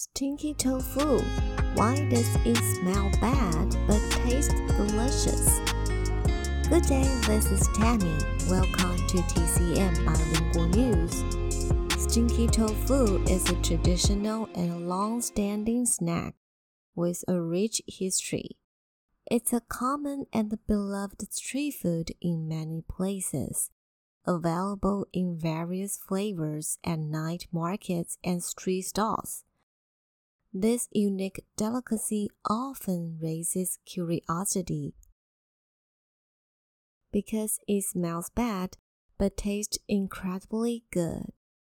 Stinky tofu. Why does it smell bad but taste delicious? Good day, this is Tammy. Welcome to TCM Bilingual News. Stinky tofu is a traditional and long-standing snack with a rich history. It's a common and beloved street food in many places, available in various flavors at night markets and street stalls. This unique delicacy often raises curiosity because it smells bad but tastes incredibly good.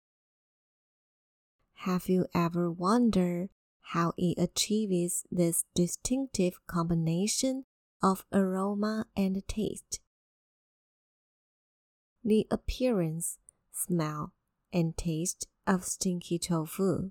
Have you ever wondered how it achieves this distinctive combination of aroma and taste? The appearance, smell, and taste of stinky tofu.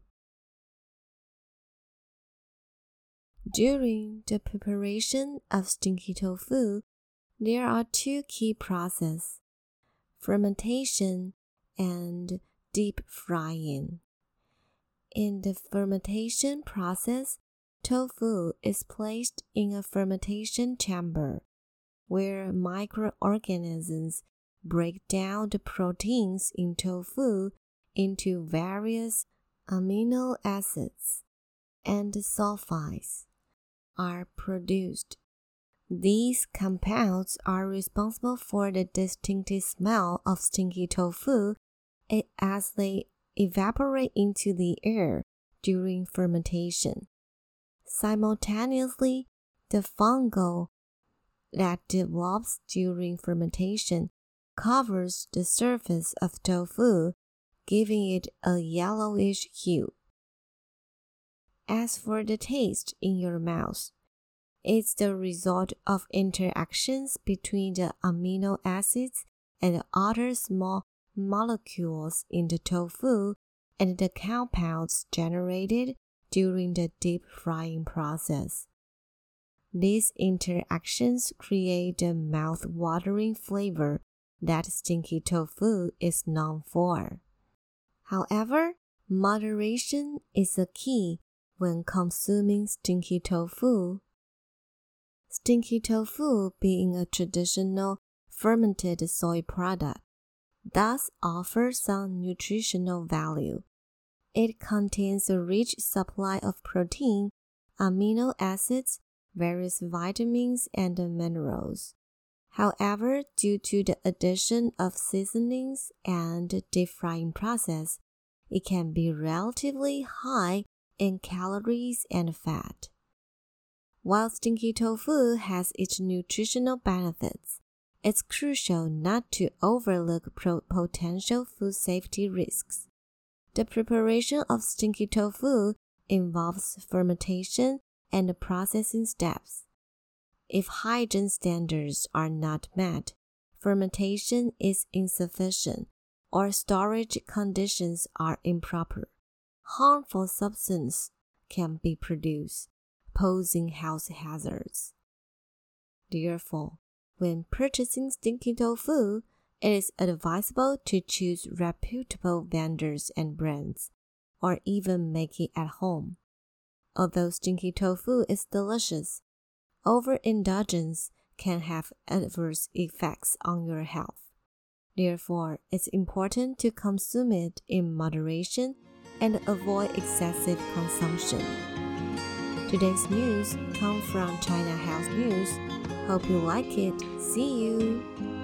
During the preparation of stinky tofu, there are two key processes: fermentation and deep frying. In the fermentation process, tofu is placed in a fermentation chamber where microorganisms break down the proteins in tofu into various amino acids and sulfides are produced. These compounds are responsible for the distinctive smell of stinky tofu as they evaporate into the air during fermentation. Simultaneously, the fungal that develops during fermentation covers the surface of tofu, giving it a yellowish hue. As for the taste in your mouth, it's the result of interactions between the amino acids and other small molecules in the tofu and the compounds generated during the deep frying process. These interactions create the mouth-watering flavor that stinky tofu is known for. However, moderation is a key when consuming stinky tofu. Stinky tofu, being a traditional fermented soy product, thus offers some nutritional value. It contains a rich supply of protein, amino acids, various vitamins, and minerals. However, due to the addition of seasonings and deep frying process, it can be relatively high in calories and fat. While stinky tofu has its nutritional benefits, it's crucial not to overlook potential food safety risks. The preparation of stinky tofu involves fermentation and processing steps. If hygiene standards are not met, fermentation is insufficient, or storage conditions are improper, harmful substances can be produced, posing health hazards. Therefore, when purchasing stinky tofu, it is advisable to choose reputable vendors and brands, or even make it at home. Although stinky tofu is delicious, overindulgence can have adverse effects on your health. Therefore, it's important to consume it in moderation and avoid excessive consumption. Today's news comes from China Health News. Hope you like it. See you!